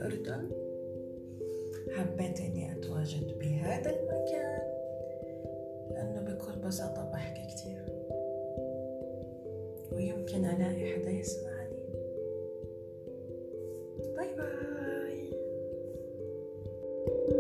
الأردن. حبيت إني أتواجد بهذا المكان لأنه بكل بساطة بحكي كتير ويمكن ألاقي حدا يسمعني. باي باي.